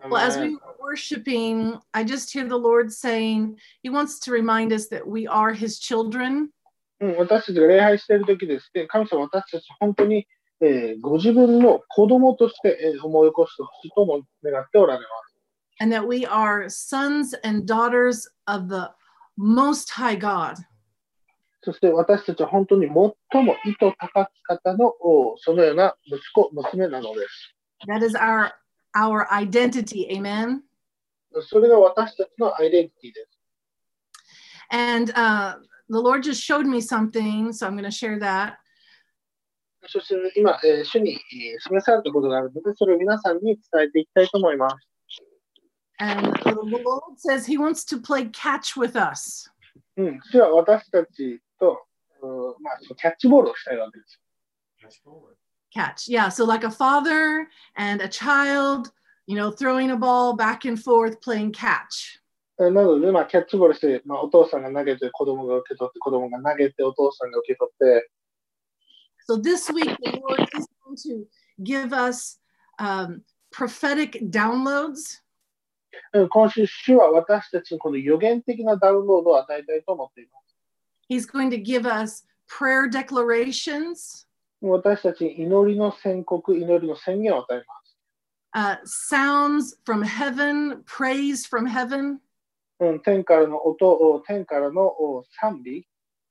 Well, as we were worshiping, I just hear the Lord saying, He wants to remind us that we are His children. 私たちが礼拝しているときですね、神様は私たち本当に、ご自分の子供として、思い起こしてほしいとも願っておられます。 And that we are sons and daughters of the Most High God. そして私たちは本当に最も意図高き方のそのような息子、娘なのです。 That is our identity. Amen. それが私たちのアイデンティティです。 And the Lord just showed me something, so I'm going to share that. そして今、主に示されたことがあるので、それを皆さんに伝えていきたいと思います。 And the Lord says He wants to play catch with us. 主は私たちと、キャッチボールをしたいわけです。 Catch, yeah. So like a father and a child, throwing a ball back and forth, playing catch. なので、キャッチボールして、お父さんが投げて、子供が受け取って、子供が投げて、お父さんが受け取って。 So this week, the Lord is going to give us prophetic downloads. 今週、主は私たちにこの予言的なダウンロードを与えたいと思っています。 He's going to give us prayer declarations. 私たちに祈りの宣告、祈りの宣言を与えます。Sounds from heaven, praise from heaven. 天からの音、天からの賛美。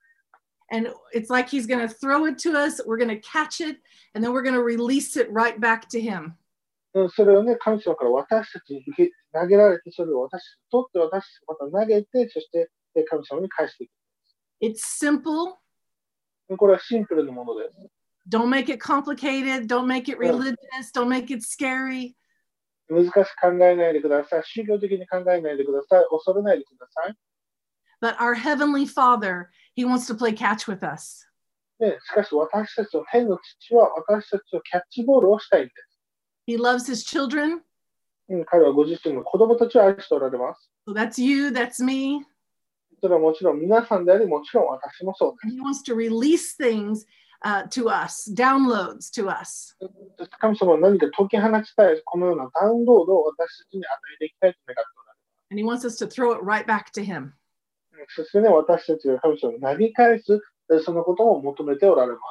And it's like He's going to throw it to us, we're going to catch it, and then we're going to release it right back to Him. それをね、神様から私たちに投げられて、それを私たちに取って、私たちまた投げて、そして神様に返していく。 It's simple. これはシンプルなものです。 Don't make it complicated. Don't make it religious. Don't make it scary. 難しく考えないでください。宗教的に考えないでください。恐れないでください。 But our Heavenly Father, He wants to play catch with us. しかし私たちの天の父は私たちとキャッチボールをしたいんです。 He loves His children. 彼はご自身の子供たちを愛しておられます。 So that's you, that's me. それはもちろん皆さんであり、もちろん私もそうです。 And He wants to release things to us, downloads to us. 神様は何か解き放ちたい、このようなダウンロードを私たちに与えていきたいと願っておられます。 And He wants us to throw it right back to Him. そしてね、私たちが神様に投げ返す、そのことを求めておられます。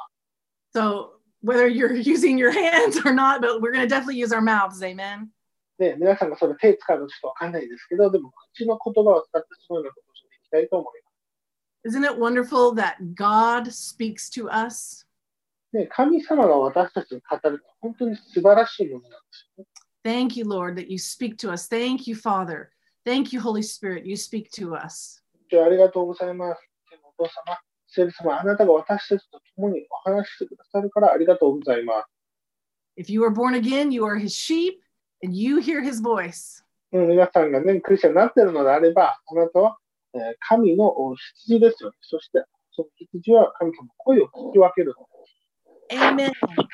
So whether you're using your hands or not, but we're going to definitely use our mouths, amen. で、皆さんがそれ手使うのちょっとわかんないですけど、でも口の言葉を使ってそのようなことをしていきたいと思います。 Isn't it wonderful that God speaks to us? ね、神様が私たちに語ると本当に素晴らしいものなんですよね。 Thank you, Lord, that you speak to us. Thank you, Father. Thank you, Holy Spirit. You speak to us. ありがとうございます。お父様、聖霊様、あなたが私たちと共にお話ししてくださるからありがとうございます。 If you are born again, you are His sheep and you hear His voice. 皆さんがね、クリスチャンになっているのであれば、あなたは神の羊ですよね。そして、その羊は神様の声を聞き分ける。 Amen.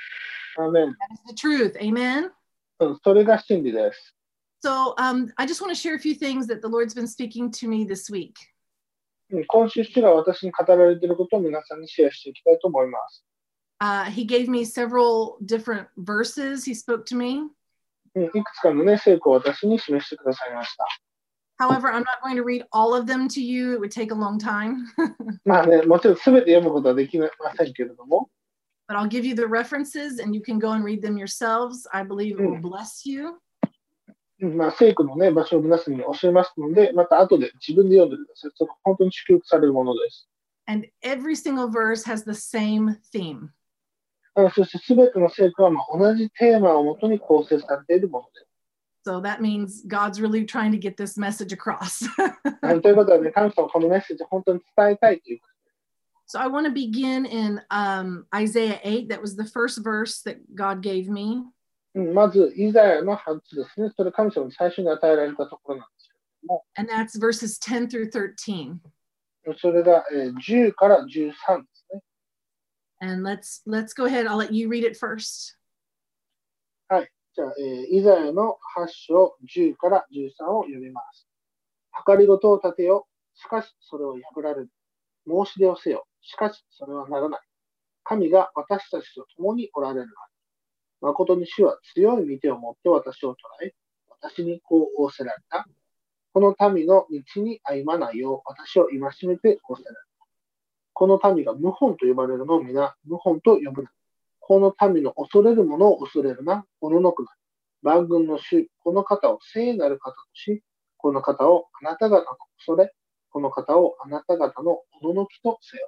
Amen. That is the truth. Amen. それが真理です。 So I just want to share a few things that the Lord's been speaking to me this week. 今週、主が私に語られていることを皆さんにシェアしていきたいと思います。 He gave me several different verses. He spoke to me. いくつかのね、聖句を私に示してくださいました。 However, I'm not going to read all of them to you. It would take a long time. まあね、もちろん全て読むことはできませんけれども。 But I'll give you the references and you can go and read them yourselves. I believe it will bless you. 聖句のね、場所を皆さんに教えますので、また後で自分で読んでください。それ本当に祝福されるものです。 And every single verse has the same theme. そして全ての聖句は同じテーマをもとに構成されているものです。 So that means God's really trying to get this message across. ということはね、神様このメッセージを本当に伝えたいという。 So I want to begin in Isaiah 8. That was the first verse that God gave me. まず、イザヤの8ですね。それ神様に最初に与えられたところなんですけれども。 And that's verses 10 through 13. それが10から13ですね。 And let's go ahead. I'll let you read it first. はい。じゃあ、イザヤの8章10から13を読みます。計りごとを立てよ。しかし、それを破られる。申し出をせよ。しかし、それはならない。神が私たちと共におられるから。誠に主は強い御手を持って私を捉え、 私にこう仰せられた。この民の道に歩まないよう私を戒めて仰せられた。この民が謀反と呼ばれるのを皆謀反と呼ぶな。この民の恐れるものを恐れるな。おののくな。万軍の主、この方を聖なる方とし、この方をあなた方の恐れ、この方をあなた方のおののきとせよ。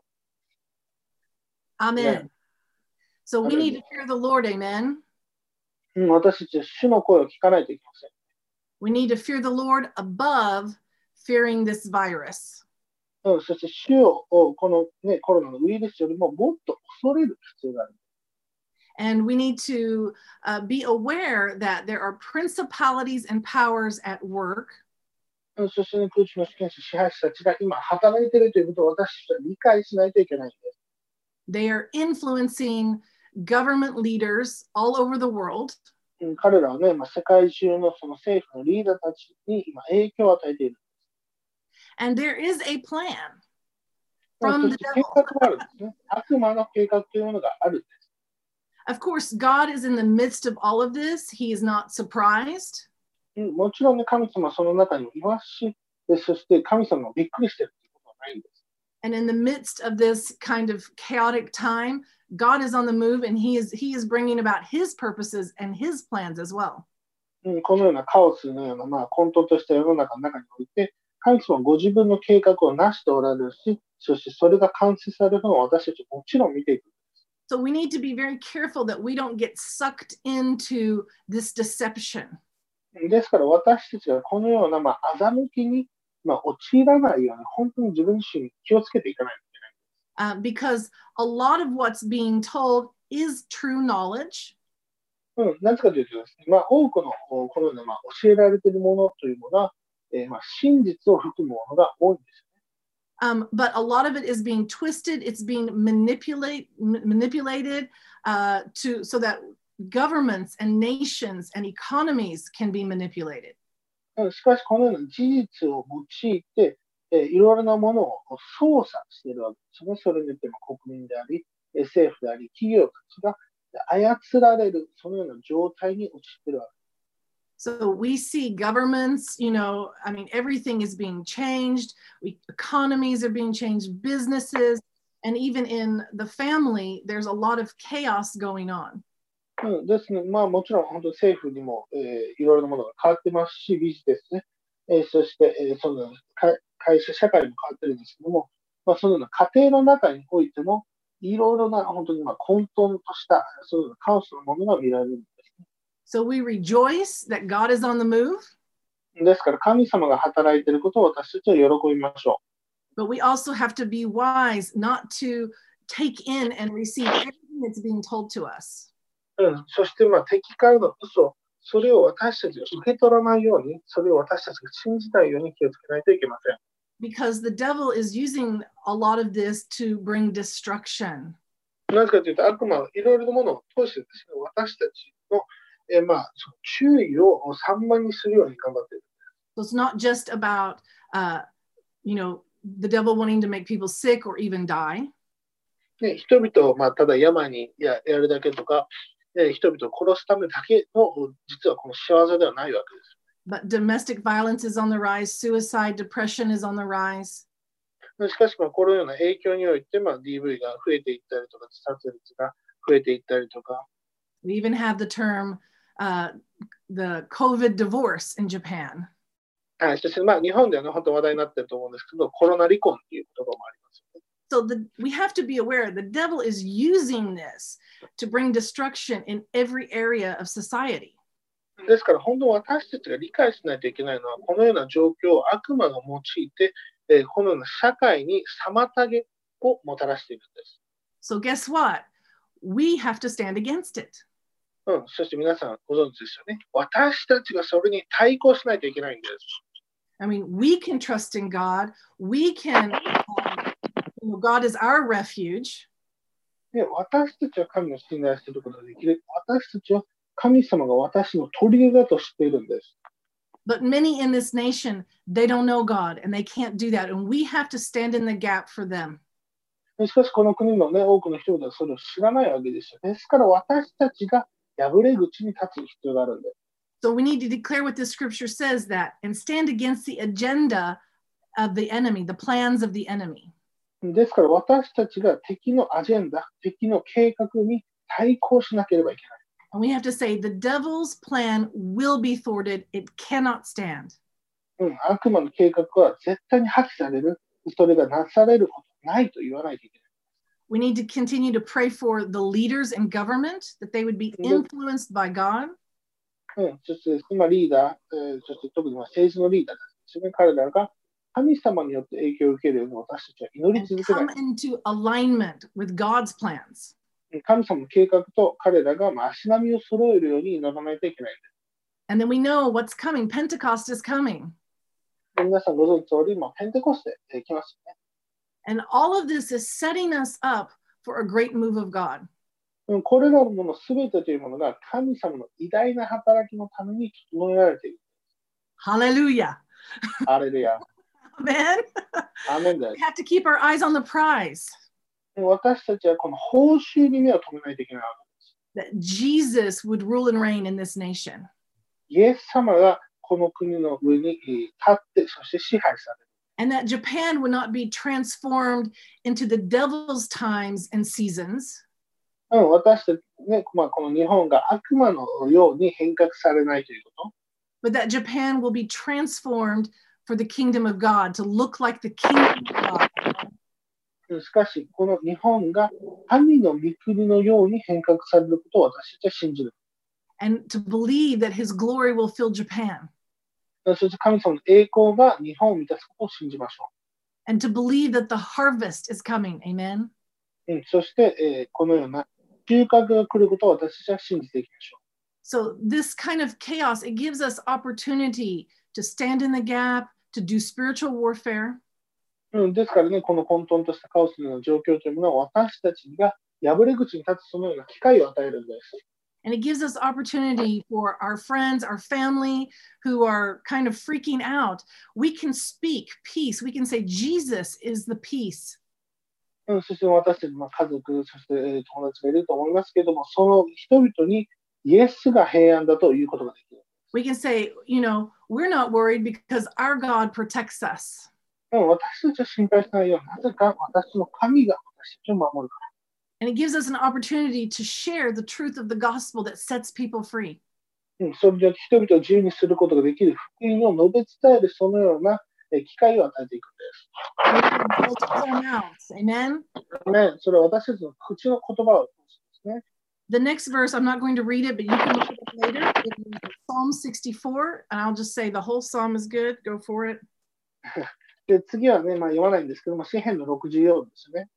Amen. So we Amen. need to fear the Lord. Amen. 私たちは主の声を聞かないといけません。 We need to fear the Lord above fearing this virus. そして主をこの、コロナのウイルスよりももっと恐れる必要がある。 And we need to be aware that there are principalities and powers at work. そして、空中の主権者、支配者たちが今働いているということを私たちは理解しないといけないんです。 They are influencing government leaders all over the world. 彼らはね、世界中のその政府のリーダーたちに今影響を与えている。 And there is a plan そ from し the て計 devil. 画があるんですね。悪魔の計画というものがあるんです。 Of course, God is in the midst of all of this. He is not surprised. もちろんね、神様はその中にいますし、そして神様がびっくりしているということはないんです。 And in the midst of this kind of chaotic time, God is on the move and he is bringing about his purposes and his plans as well. このようなカオスのような、混沌とした世の中の中において、神様はご自分の計画をなしておられるし、そしてそれが完成されるのを私たちもちろん見ていく。 So we need to be very careful that we don't get sucked into this deception. ですから私たちがこのような、欺きに、陥らないように、本当に自分自身に気をつけていかないといけない。 Because a lot of what's being told is true knowledge. なぜかというとですね、多くのこのような、教えられているものというものは、真実を含むものが多いんですよね。 But a lot of it is being twisted. It's being manipulated so that governments and nations and economies can be manipulated. しかし、このような事実を用いて、いろいろなものを操作しているわけですね。それによって国民であり、政府であり、企業たちが操られる、そのような状態に陥っているわけです。 So we see governments, everything is being changed. Economies are being changed, businesses, and even in the family, there's a lot of chaos going on. ですね。もちろん、本当に政府にも、いろいろなものが変わってますし、ビジネスね。そして、その会社、社会も変わってるんですけども、そのような家庭の中においても、いろいろな本当に混沌とした、そのようなカオスのものが見られるんですね。 So we rejoice that God is on the move. ですから、神様が働いていることを私たちは喜びましょう。But we also have to be wise not to take in and receive everything that's being told to us. そして、敵からの嘘、それを私たちが受け取らないように、それを私たちが信じないように気をつけないといけません。 Because the devil is using a lot of this to bring destruction. なぜかというと、悪魔はいろいろなものを通してですね、私たちの、注意を散漫にするように頑張っている。 So it's not just about, the devil wanting to make people sick or even die. 人々を、ただ病にやるだけとか、人々を殺すためだけの、実はこの仕業ではないわけです。 But domestic violence is on the rise, suicide, depression is on the rise. しかし、このような影響において、DV が増えていったりとか、自殺率が増えていったりとか。 We even have the term, the COVID divorce in Japan. そして、日本では、本当話題になっていると思うんですけど、コロナ離婚という言葉もありますよね。 So we have to be aware the devil is using this to bring destruction in every area of society. ですから、本当に私たちが理解しないといけないのは、このような状況を悪魔が用いて、このような社会に妨げをもたらしているんです。 So guess what? We have to stand against it. そして皆さんご存知ですよね。私たちがそれに対抗しないといけないんです。 We can trust in God. We can, God is our refuge. 私たちは神を信頼することができる。私たちは神様が私の砦だと知っているんです。 But many in this nation, they don't know God and they can't do that. And we have to stand in the gap for them. しかしこの国の多くの人々はそれを知らないわけですよ。ですから私たちが破れ口に立つ必要があるんです。 So we need to declare what the scripture says that and stand against the agenda of the enemy, the plans of the enemy. ですから私たちが敵のアジェンダ、敵の計画に対抗しなければいけない。 And we have to say, the devil's plan will be thwarted. It cannot stand. 悪魔の計画は絶対に破棄される。それがなされることないと言わないといけない。 We need to continue to pray for the leaders in government, that they would be influenced by God. そして、リーダー、そして特に政治のリーダーですね。彼らが神様によって影響を受けるように私たちは祈り続けない。 And come into alignment with God's plans. 神様の計画と彼らが足並みを揃えるように祈らないといけないんです。 And then we know what's coming. Pentecost is coming. 皆さんご存知の通り、ペンテコステ来ますよね。 And all of this is setting us up for a great move of God. これらのものすべてというものが神様の偉大な働きのために整えられている。 Hallelujah. ハレルヤ。 Amen. アーメンです。 We have to keep our eyes on the prize. 私たちはこの報酬に目を留めないといけないわけです。That Jesus would rule and reign in this nation. イエス様がこの国の上に立って、そして支配される。 And that Japan would not be transformed into the devil's times and seasons. 私たちね、この日本が悪魔のように変革されないということ。 But that Japan will be transformed for the kingdom of God, to look like the kingdom of God. しかし、この日本が神の御国のように変革されることを私たちは信じる。 And to believe that his glory will fill Japan. そして神様の栄光が日本を満たすことを信じましょう。And to believe that the harvest is coming. Amen. そして、このような収穫が来ることを私たちは信じていきましょう。So this kind of chaos, it gives us opportunity to stand in the gap, to do spiritual warfare. ですからね、この混沌としたカオスのような状況というものは私たちが破れ口に立つそのような機会を与えるんです。 And it gives us opportunity for our friends, our family who are kind of freaking out. We can speak peace. We can say, Jesus is the peace. そして私たちの家族、そして友達がいると思いますけれども、その人々にイエスが平安だということができる。 We can say, we're not worried because our God protects us. 私たちは心配しないよ。なぜか私の神が私たちを守るから。 And it gives us an opportunity to share the truth of the gospel that sets people free. それによって人々を自由にすることができる福音を述べ伝えるそのような機会を与えていくんです。 Amen. それは私たちの口の言葉を通すんですね。 The next verse, I'm not going to read it, but you can look it up later. It is Psalm 64, and I'll just say the whole psalm is good. Go for it. で次はね、読まないんですけども、詩編の64ですね。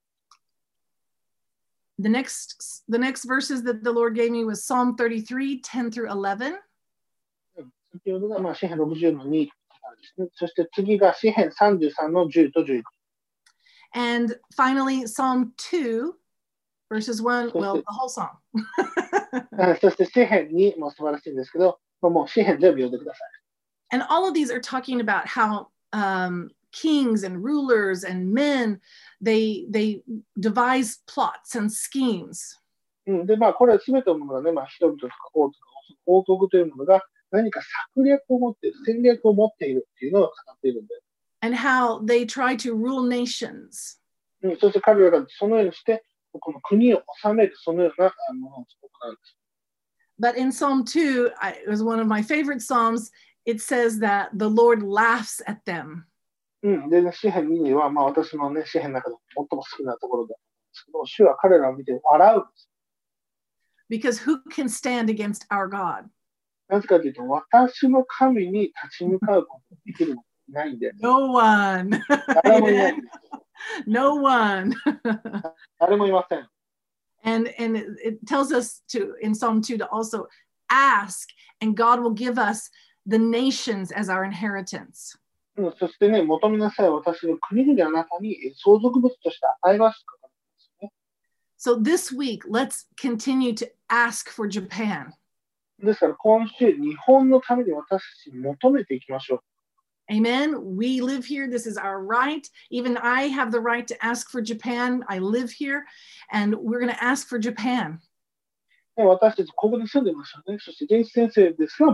The next verses that the Lord gave me was Psalm 33, 10 through 11. 先ほどが詩編60の2ですね。そして次が詩編33の10と11。 And finally, Psalm 2, verses 1, well, the whole psalm. そして詩編2も素晴らしいんですけど、もう詩編全部読んでください。 And all of these are talking about how kings and rulers and men, they devise plots and schemes. で、これは全てのものがね、人々とか王国というものが何か策略を持っている、戦略を持っているっていうのを語っているんです。 And how they try to rule nations. そして彼らがそのようにして、この国を治めるそのようなものを行うんです。 But in Psalm 2, it was one of my favorite Psalms, it says that the Lord laughs at them. で、詩編2は、私のね、詩編の中で最も好きなところですけど、主は彼らを見て笑うんです。 Because who can stand against our God? なぜかというと、私の神に立ち向かうことができるのいないんで。 No one. 誰もいない。 No one. 誰もいません。 And it tells us in Psalm 2 to also ask, and God will give us the nations as our inheritance. そしてね、求めなさい、私の国々あなたに相続物として与えますと書かれていますね。 So this week, let's continue to ask for Japan. ですから今週、日本のために私たちに求めていきましょう。 Amen. We live here. This is our right. Even I have the right to ask for Japan. I live here, and we're going to ask for Japan. 私たちここに住んでましたね。そして、ジェイス先生ですらも、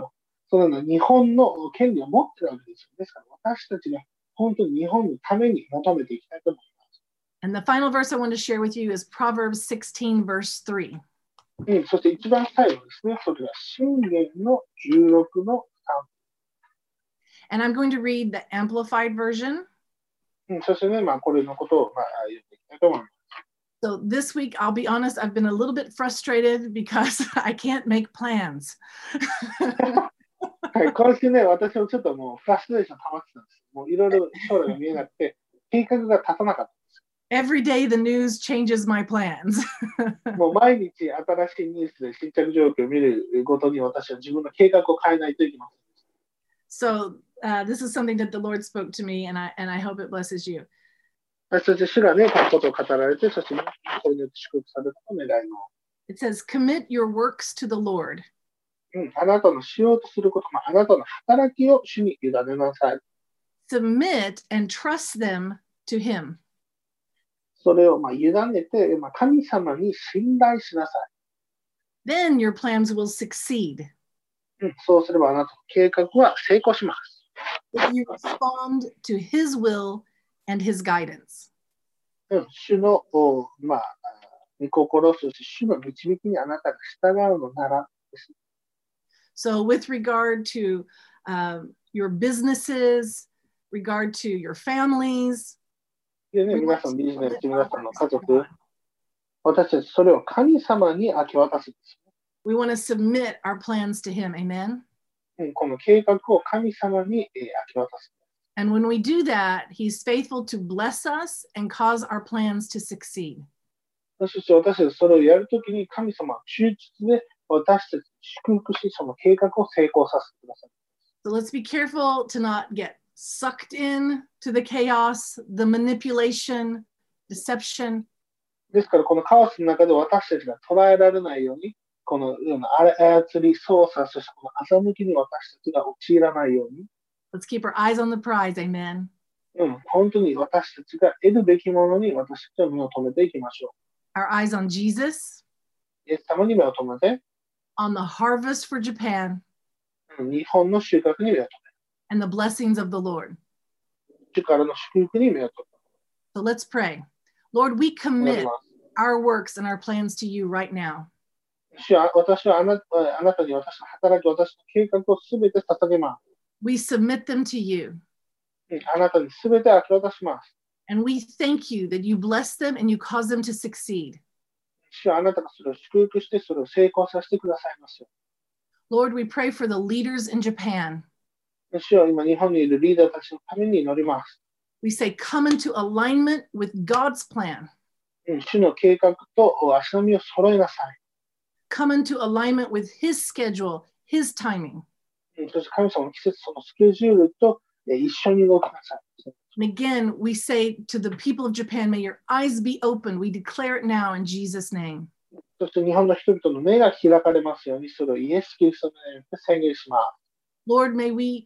そのような日本の権利を持っているわけですよ。ですから私たちが本当に日本のために求めていきたいと思います。 And the final verse I want to share with you is Proverbs 16, verse 3. そして一番最後ですね。それは箴言の16の And I'm going to read the Amplified version. 3。そしてね、これのことを読んでいきたいと思います。 So this week, I'll be honest, I've been a little bit frustrated because I can't make plans. はい、今週ね、私もちょっともうフラストレーション溜まってたんです。もういろいろ将来が見えなくて、計画が立たなかった。 Every day the news changes my plans. もう毎日新しいニュースで新着状況を見るごとに私は自分の計画を変えないといけません。So this is something that the Lord spoke to me, and I hope it blesses you. そして主がね、このことを語られて、そしてこれによって祝福されることを願います。 It says, commit your works to the Lord. あなたのしようとすることも、あなたの働きを主に委ねなさい。 Submit and trust them to Him. それを委ねて、神様に信頼しなさい。 Then your plans will succeed. そうすればあなたの計画は成功します。 If you respond to His will and His guidance. 主の、御心、そして主の導きにあなたが従うのならです。 So with regard to your businesses, regard to your families, でね、皆さんビジネス、皆さんの家族、私たちそれを神様に明け渡すんです。 We want to submit our plans to Him. Amen. この計画を神様に明け渡す。 And when we do that, He's faithful to bless us and cause our plans to succeed. そして私たちそれをやるときに神様は忠実で私たちに祝福し、その計画を成功させてください。 So let's be careful to not get sucked in to the chaos, the manipulation, deception. ですからこのカオスの中で私たちが捉えられないように、このような操り、操作、そしてこの欺きに私たちが陥らないように。 Let's keep our eyes on the prize, amen. 本当に私たちが得るべきものに私たちは目を留めていきましょう。Our eyes on Jesus. イエス様に目を留めて。 On the harvest for Japan. 日本の収穫に目を留め。 And the blessings of the Lord. 主からの祝福に目を留め。So let's pray. Lord, we commit our works and our plans to you right now. 主は私はあなたに私の働き、私の計画をすべて捧げます。 We submit them to you. あなたにすべて明け渡します。 And we thank you that you bless them and you cause them to succeed. 主はあなたがそれを祝福してそれを成功させてくださいますよ。 Lord, we pray for the leaders in Japan. 主は今日本にいるリーダーたちのために祈ります。 We say, come into alignment with God's plan. 主の計画と足並みを揃えなさい。 Come into alignment with His schedule, His timing. そして神様の季節、そのスケジュールと一緒に動きなさい。 And again, we say to the people of Japan, may your eyes be open. We declare it now in Jesus' name. そして日本の人々の目が開かれますように、それをイエス・キリストの名によって宣言します。 Lord, may we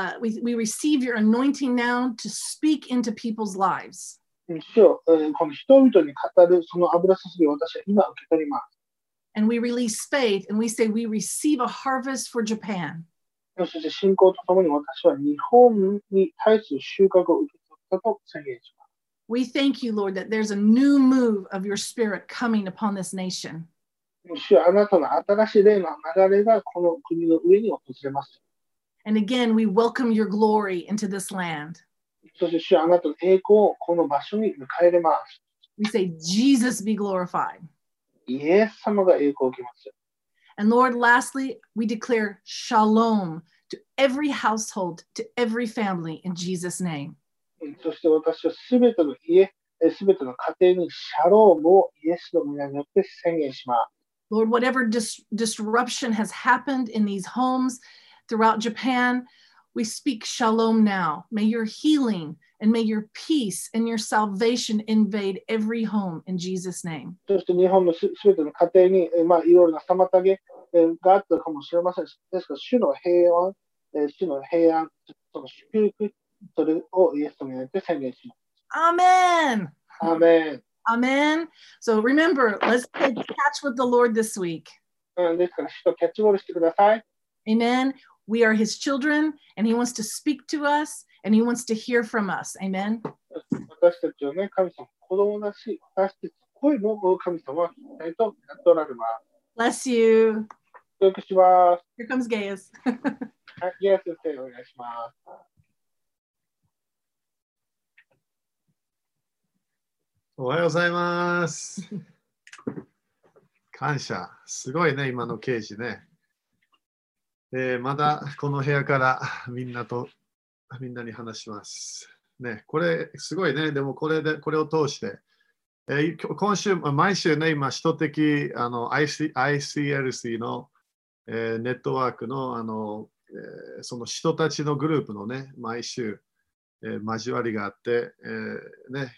receive your anointing now to speak into people's lives. 主よ、この人々に語るその油注ぎを私は今受け取ります。 And we release faith and we say we receive a harvest for Japan. そして信仰とともに私は日本に対する収穫を受け取ったと宣言します。 We thank you, Lord, that there's a new move of your spirit coming upon this nation. 主よ、あなたの新しい霊の流れがこの国の上に訪れます。 And again, we welcome your glory into this land. そして主よ、あなたの栄光をこの場所に迎え入れます。 We say, Jesus be glorified. イエス様が栄光を受けます。 And Lord, lastly, we declare shalom to every household, to every family in Jesus' name. そして私はすべての家、すべての家庭にシャロームをイエスの皆によって宣言します。 Lord, whatever disruption has happened in these homes throughout Japan, we speak shalom now. May your healing and may your peace and your salvation invade every home in Jesus' name. そして日本のすべての家庭に、いろいろな妨げがあったかもしれません。ですから、主の平安、その祝福、それをイエスとによって宣言します。 Amen. Amen. Amen. So remember, let's play catch with the Lord this week. ですから、主とキャッチボールしてください。 Amen. We are his children, and he wants to speak to us, and he wants to hear from us. Amen. 私たちはね、神様、子供だし、私たちの声も神様は聞きたいとやっておられます。 Bless you. 教育します。 Here comes Gaius. はい、ゲイア先生、お願いします。 おはようございます。感謝。すごいね、今の刑事ね。まだこの部屋からみんなに話します。ね、これすごいね。でもこれを通して、今週、毎週ね、今、首都的ICLC の、ネットワークの、その人たちのグループのね、毎週、交わりがあって、ね、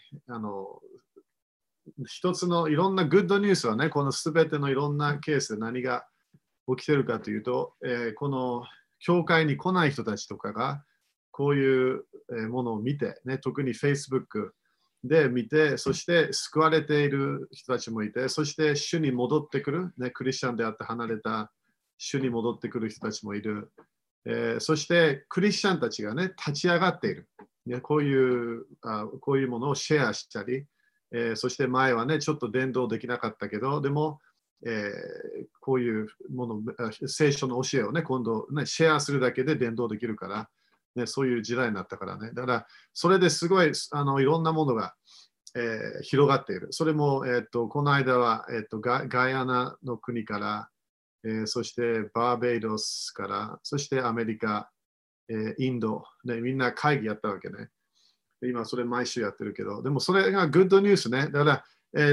一つのいろんなグッドニュースはね、このすべてのいろんなケースで何が起きてるかというと、この教会に来ない人たちとかがこういうものを見て、ね、特に Facebook で見て、そして救われている人たちもいて、そして主に戻ってくる、ね、クリスチャンであって離れた主に戻ってくる人たちもいる。そしてクリスチャンたちがね、立ち上がっている。ね、こういうものをシェアしたり、そして前はね、ちょっと伝道できなかったけど、でも、こういうもの、聖書の教えをね、今度、ね、シェアするだけで伝道できるから、ね、そういう時代になったからね。だから、それですごいいろんなものが、広がっている。それも、この間は、ガイアナの国から、そしてバーベイドスから、そしてアメリカ、インド、ね、みんな会議やったわけね。今それ毎週やってるけど、でもそれがグッドニュースね。だから、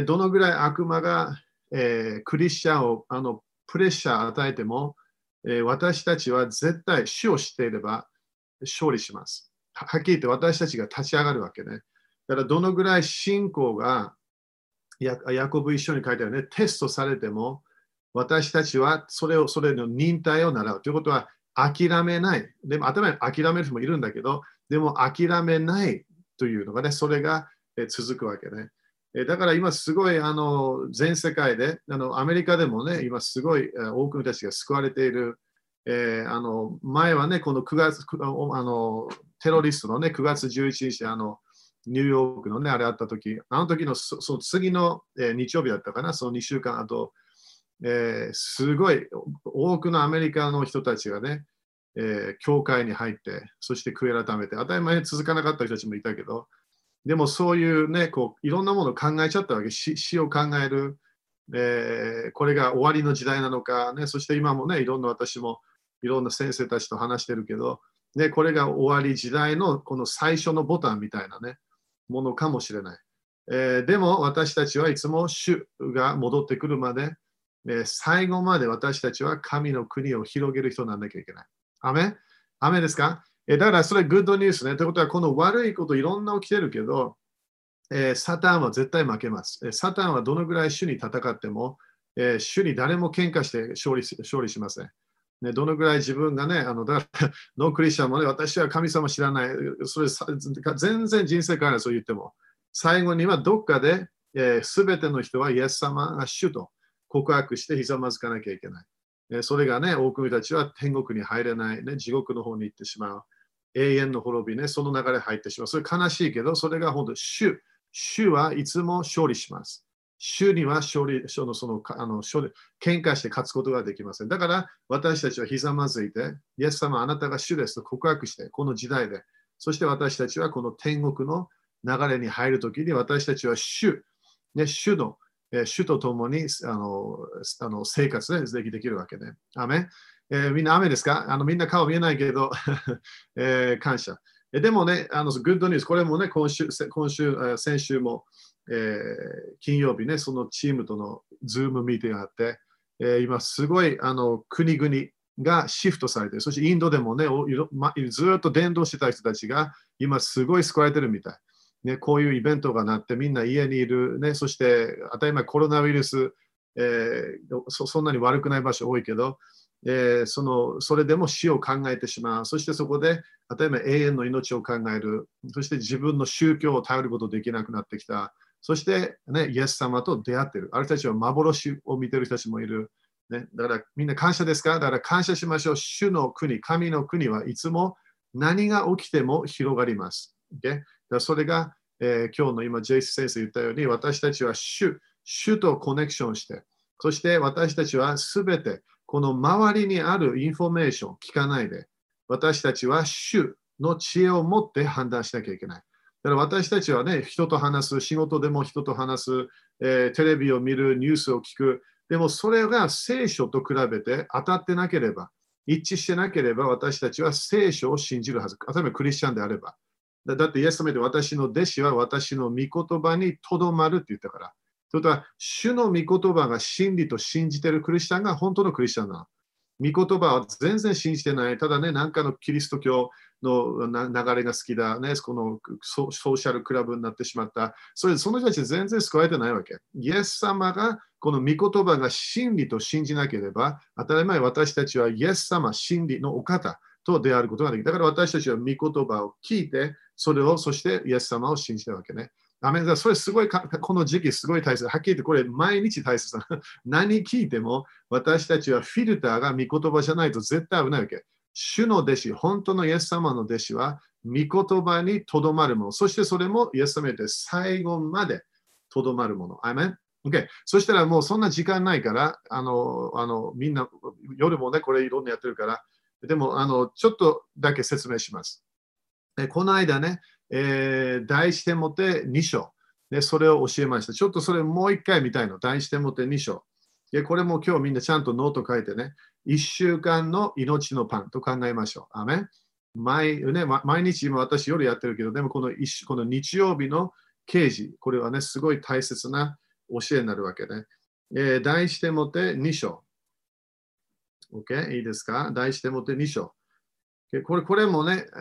どのぐらい悪魔が、クリスチャンをプレッシャー与えても、私たちは絶対主を知っていれば勝利します。はっきり言って私たちが立ち上がるわけね。だからどのぐらい信仰が、ヤコブ一緒に書いてあるね、テストされても、私たちはそれの忍耐を習う。ということは諦めない。でも頭に諦める人もいるんだけど、でも諦めないというのがね、それが続くわけね。だから今すごい全世界で、アメリカでもね、今すごい多くの人たちが救われている。前はね、この9月、テロリストのね、9月11日、ニューヨークのね、あれあった時、あの時のその次の、日曜日だったかな、その2週間後、すごい多くのアメリカの人たちがね、教会に入って、そして悔い改めて、当たり前に続かなかった人たちもいたけど、でもそういうね、こういろんなものを考えちゃったわけ。死を考える、これが終わりの時代なのか、ね、そして今もね、いろんな私もいろんな先生たちと話してるけど、ね、これが終わり時代のこの最初のボタンみたいなね、ものかもしれない。でも私たちはいつも主が戻ってくるまで、最後まで私たちは神の国を広げる人にならなきゃいけない。アメアメですか？だからそれグッドニュースね。ということはこの悪いこといろんな起きてるけど、サタンは絶対負けます。サタンはどのぐらい主に戦っても、主に誰も喧嘩して勝利しません。ね、どのぐらい自分がね、だからノークリスチャンもね、私は神様知らない、それ全然人生変わらない、そう言っても、最後にはどっかで、すべての人はイエス様が主と告白してひざまずかなきゃいけない。それがね、多くの人たちは天国に入れない、ね、地獄の方に行ってしまう。永遠の滅びね、その流れ入ってしまう。それ悲しいけど、それが本当主はいつも勝利します。主には喧嘩して勝つことができません。だから私たちはひざまずいて、イエス様あなたが主ですと告白して、この時代で、そして私たちはこの天国の流れに入るときに私たちは主と共に生活できるわけね。アメみんな雨ですか？みんな顔見えないけど、感謝。でもね、グッドニュース、これもね、先週も、金曜日ね、そのチームとのズームミーティングがあって、今すごい国々がシフトされている。そしてインドでもね、ずっと伝道してた人たちが今すごい救われてるみたい。ね、こういうイベントがなってみんな家にいる、ね、そして当たり前コロナウイルス、そんなに悪くない場所多いけど、それでも死を考えてしまう。そしてそこで当たり前永遠の命を考える。そして自分の宗教を頼ることできなくなってきた。そして、ね、イエス様と出会っている。ある人たちは幻を見ている人たちもいる。 ね、だからみんな感謝ですか？だから感謝しましょう。主の国、神の国はいつも何が起きても広がります。Okay？ だからそれが、今日の今、ジェイス先生言ったように、私たちは主とコネクションして、そして私たちはすべてこの周りにあるインフォメーションを聞かないで、私たちは主の知恵を持って判断しなきゃいけない。だから私たちはね、人と話す、仕事でも人と話す、テレビを見る、ニュースを聞く。でもそれが聖書と比べて当たってなければ、一致してなければ私たちは聖書を信じるはず。例えばクリスチャンであれば。だってイエス様で私の弟子は私の御言葉にとどまるって言ったから。ということは、主の御言葉が真理と信じているクリスチャンが本当のクリスチャンなの。御言葉は全然信じてない。ただね、なんかのキリスト教の流れが好きだ、ね、このソーシャルクラブになってしまった。その人たち全然救われてないわけ。イエス様がこの御言葉が真理と信じなければ、当たり前私たちはイエス様、真理のお方と出会うことができる。だから私たちは御言葉を聞いて、そしてイエス様を信じたわけね。アメリカ、それすごいこの時期すごい大切。はっきり言ってこれ毎日大切な。何聞いても私たちはフィルターが御言葉じゃないと絶対危ないわけ。主の弟子、本当のイエス様の弟子は御言葉にとどまるもの。そしてそれもイエス様で最後までとどまるもの。アメン。Okay。そしたらもうそんな時間ないから、みんな夜もね、これいろんなやってるから、でもちょっとだけ説明します。この間ね、第一テモテ2章、ね、それを教えました。ちょっとそれもう一回見たいの。第一テモテ2章。これも今日みんなちゃんとノート書いてね、1週間の命のパンと考えましょう。アメン。毎日今私夜やってるけど、でもこの日曜日の啓示、これはね、すごい大切な教えになるわけね。第一テモテ2章。OK？ いいですか？第一テモテ2章。これもね、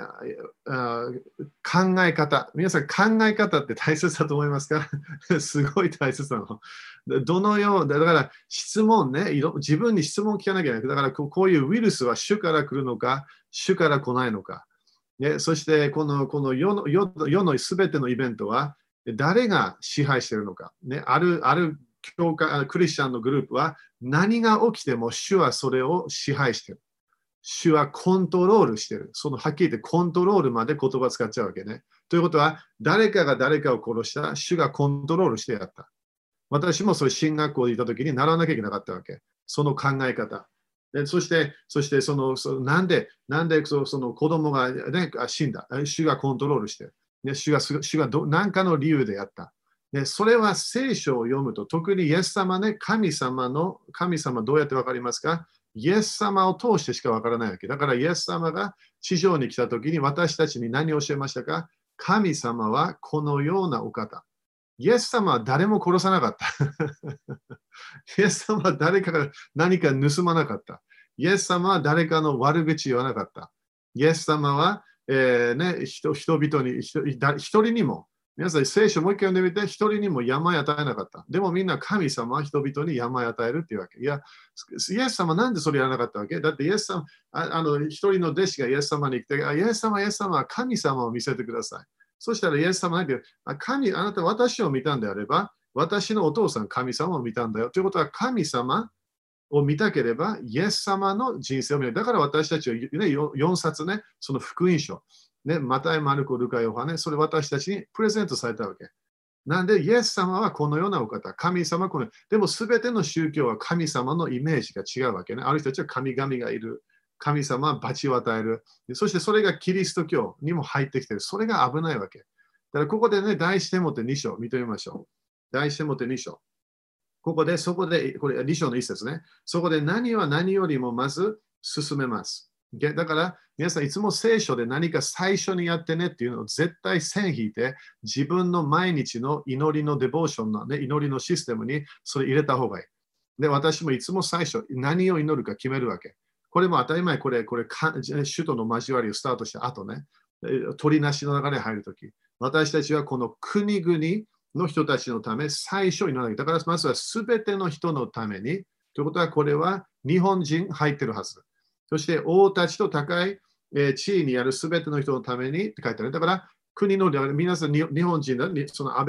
考え方。皆さん、考え方って大切だと思いますか？すごい大切なの。どのようだから質問ね、自分に質問を聞かなきゃいけない。だからこういうウイルスは主から来るのか、主から来ないのか。ね、そしてこの世のすべてのイベントは誰が支配しているのか。ね、ある教会、クリスチャンのグループは何が起きても主はそれを支配している。主はコントロールしている。そのはっきり言ってコントロールまで言葉使っちゃうわけね。ということは、誰かが誰かを殺した、主がコントロールしてやった。私もそういう進学校にいたときに習わなきゃいけなかったわけ。その考え方。でそしてなんでその子供が、ね、死んだ。主がコントロールしてる。ね、主が何かの理由でやった。でそれは聖書を読むと、特にイエス様ね、神様どうやってわかりますか？イエス様を通してしかわからないわけ。だからイエス様が地上に来たときに私たちに何を教えましたか？神様はこのようなお方。イエス様は誰も殺さなかった。イエス様は誰かが何か盗まなかった。イエス様は誰かの悪口言わなかった。イエス様は、人々に、一人にも、皆さん聖書もう一回読んでみて、一人にも病与えなかった。でもみんな神様は人々に病与えるっていうわけ。いや、イエス様はなんでそれやらなかったわけ？だってイエス様、一人の弟子がイエス様に来て、イエス様は神様を見せてください。そしたらイエス様はあなた私を見たんであれば、私のお父さん神様を見たんだよ。ということは神様を見たければ、イエス様の人生を見る。だから私たちは、ね、4冊ね、その福音書。ね、マタイ、マルコ、ルカ、ヨハネ、それ私たちにプレゼントされたわけ。なんで、イエス様はこのようなお方、神様はこの、でもすべての宗教は神様のイメージが違うわけね。ある人たちは神々がいる。神様は罰を与える。そしてそれがキリスト教にも入ってきている。それが危ないわけ。だからここでね、第一テモテ2章見てみましょう。第一テモテ2章。そこで、これ2章の一節ね。そこで何は何よりもまず進めます。だから皆さんいつも聖書で何か最初にやってねっていうのを絶対線引いて自分の毎日の祈りのデボーションの、ね、祈りのシステムにそれ入れた方がいい。で、私もいつも最初何を祈るか決めるわけ。これも当たり前、これ首都の交わりをスタートした後ね、取りなしの流れに入るとき、私たちはこの国々の人たちのため最初に祈らなきゃ。だからまずは全ての人のために。ということはこれは日本人入ってるはず。そして王たちと高い地位にある全ての人のためにって書いてある。だから国の皆さん日本人だ、その安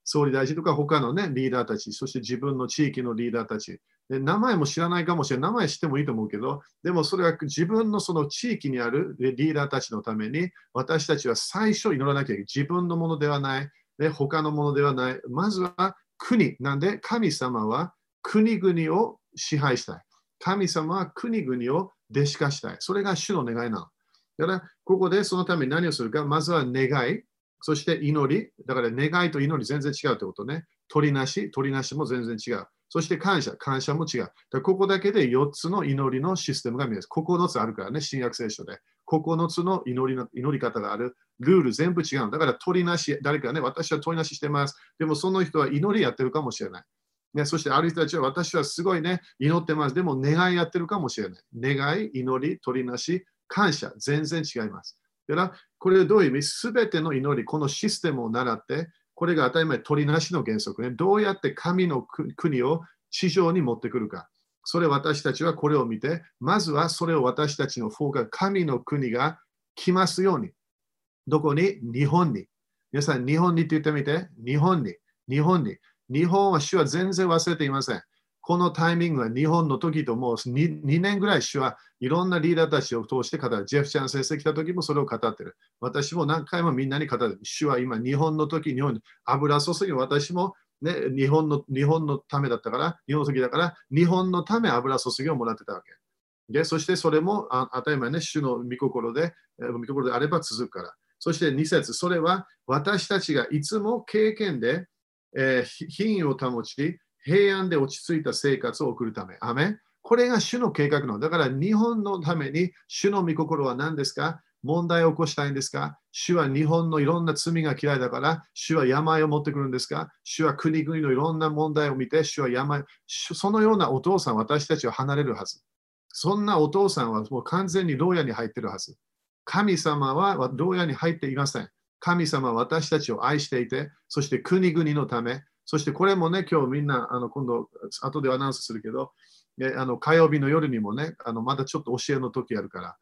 総理大臣とか他の、ね、リーダーたち、そして自分の地域のリーダーたち。で名前も知らないかもしれない。名前知ってもいいと思うけど、でもそれは自分のその地域にあるリーダーたちのために、私たちは最初祈らなきゃいけない。自分のものではない。で他のものではない。まずは国。なんで神様は国々を支配したい。神様は国々を弟子化したい。それが主の願いなの。だから、ここでそのために何をするか、まずは願い、そして祈り。だから願いと祈り全然違うということね。取りなしも全然違う。そして感謝も違う。だからここだけで4つの祈りのシステムが見えます。9つあるからね、新約聖書で。9つの祈り方がある。ルール全部違う。だから取りなし、誰かね、私は取りなししてます。でもその人は祈りやってるかもしれない。ね、そしてある人たちは私はすごいね、祈ってます。でも願いやってるかもしれない。願い、祈り、取りなし、感謝、全然違います。だからこれはどういう意味？すべての祈り、このシステムを習って、これが当たり前、取りなしの原則ね。どうやって神の国を地上に持ってくるか。それ私たちはこれを見て、まずはそれを私たちのフォーカス、神の国が来ますように。どこに？日本に。皆さん、日本にって言ってみて。日本に。日本に。日本は主は全然忘れていません。このタイミングは日本の時ともう 2年ぐらい主はいろんなリーダーたちを通して語る。ジェフちゃん先生来た時もそれを語ってる。私も何回もみんなに語る。主は今日本の時、日本に油注ぎ、私も、ね、日本のためだったから、日本の時だから、日本のため油注ぎをもらってたわけ。でそしてそれも当たり前ね、主の御心であれば続くから。そして2節、それは私たちがいつも経験で、品位を保ち、平安で落ち着いた生活を送るため。アメン。これが主の計画の。だから日本のために主の御心は何ですか？問題を起こしたいんですか？主は日本のいろんな罪が嫌いだから、主は病を持ってくるんですか？主は国々のいろんな問題を見て、主はそのようなお父さん、私たちは離れるはず。そんなお父さんはもう完全に牢屋に入っているはず。神様は牢屋に入っていません。神様は私たちを愛していて、そして国々のため、そしてこれもね、今日みんな、今度、後でアナウンスするけど、火曜日の夜にもね、まだちょっと教えの時あるから、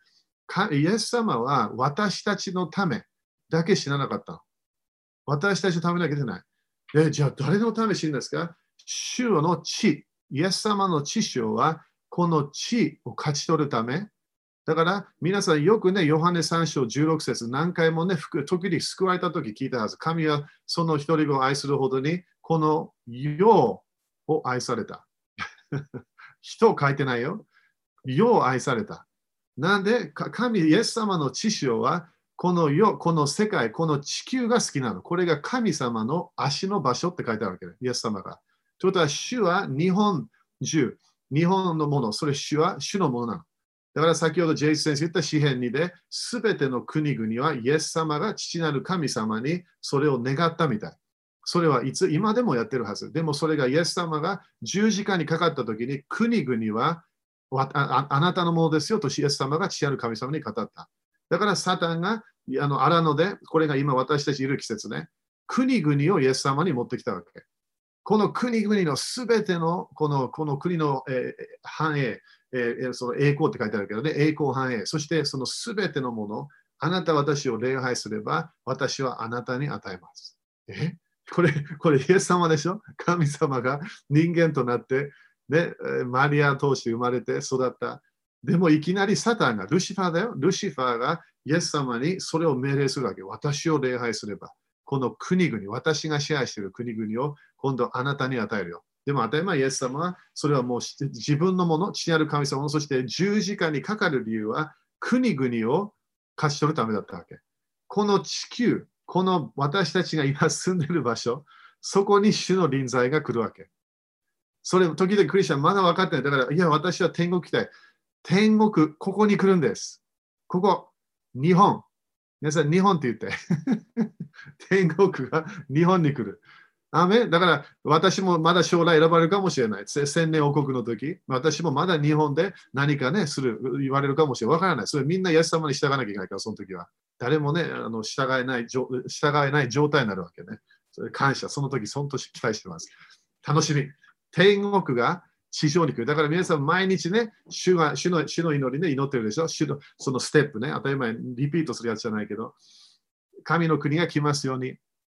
イエス様は私たちのためだけ死ななかったの。私たちのためだけでない。じゃあ誰のため死ぬんですか？主の地、イエス様の知性はこの地を勝ち取るため、だから皆さんよくね、ヨハネ3章16節何回もね、時に救われた時聞いたはず。神はその一人子を愛するほどに、この世を愛された。人を書いてないよ。世を愛された。なんで、神、イエス様の知性は、この世、この世界、この地球が好きなの。これが神様の足の場所って書いてあるわけね。イエス様が。ということは、主は日本中、日本のもの、それ主は主のものなの。だから先ほどジェイス先生言った詩篇2で、すべての国々はイエス様が父なる神様にそれを願ったみたい。それはいつ今でもやってるはず。でもそれがイエス様が十字架にかかったときに国々はあなたのものですよとイエス様が父なる神様に語った。だからサタンが荒野で、これが今私たちいる季節ね、国々をイエス様に持ってきたわけ。この国々のすべてのこの国の、繁栄、その栄光って書いてあるけどね、栄光繁栄、そしてそのすべてのもの、あなた私を礼拝すれば、私はあなたに与えます。これイエス様でしょ？神様が人間となって、ね、マリア通して生まれて育った。でもいきなりサタンが、ルシファーだよ。ルシファーがイエス様にそれを命令するわけ。私を礼拝すれば、この国々、私が支配している国々を今度あなたに与えるよ。でも当たり前、イエス様はそれはもう自分のもの、父なる神様の、そして十字架にかかる理由は国々を勝ち取るためだったわけ。この地球、この私たちが今住んでいる場所、そこに主の臨在が来るわけ。それ、時々クリスチャンまだ分かってない。だから、いや、私は天国来たい。天国、ここに来るんです。ここ、日本。皆さん、日本って言って。天国が日本に来る。アメン。だから私もまだ将来選ばれるかもしれない。千年王国の時、私もまだ日本で何かね、言われるかもしれない。わからない。それみんなイエス様に従わなきゃいけないから、その時は。誰もね、従えない状態になるわけね。それ感謝。その時、本当に期待してます。楽しみ。天国が地上に来る。だから皆さん、毎日ね、主の祈りね、祈ってるでしょ。主のそのステップね、当たり前、リピートするやつじゃないけど、神の国が来ますように。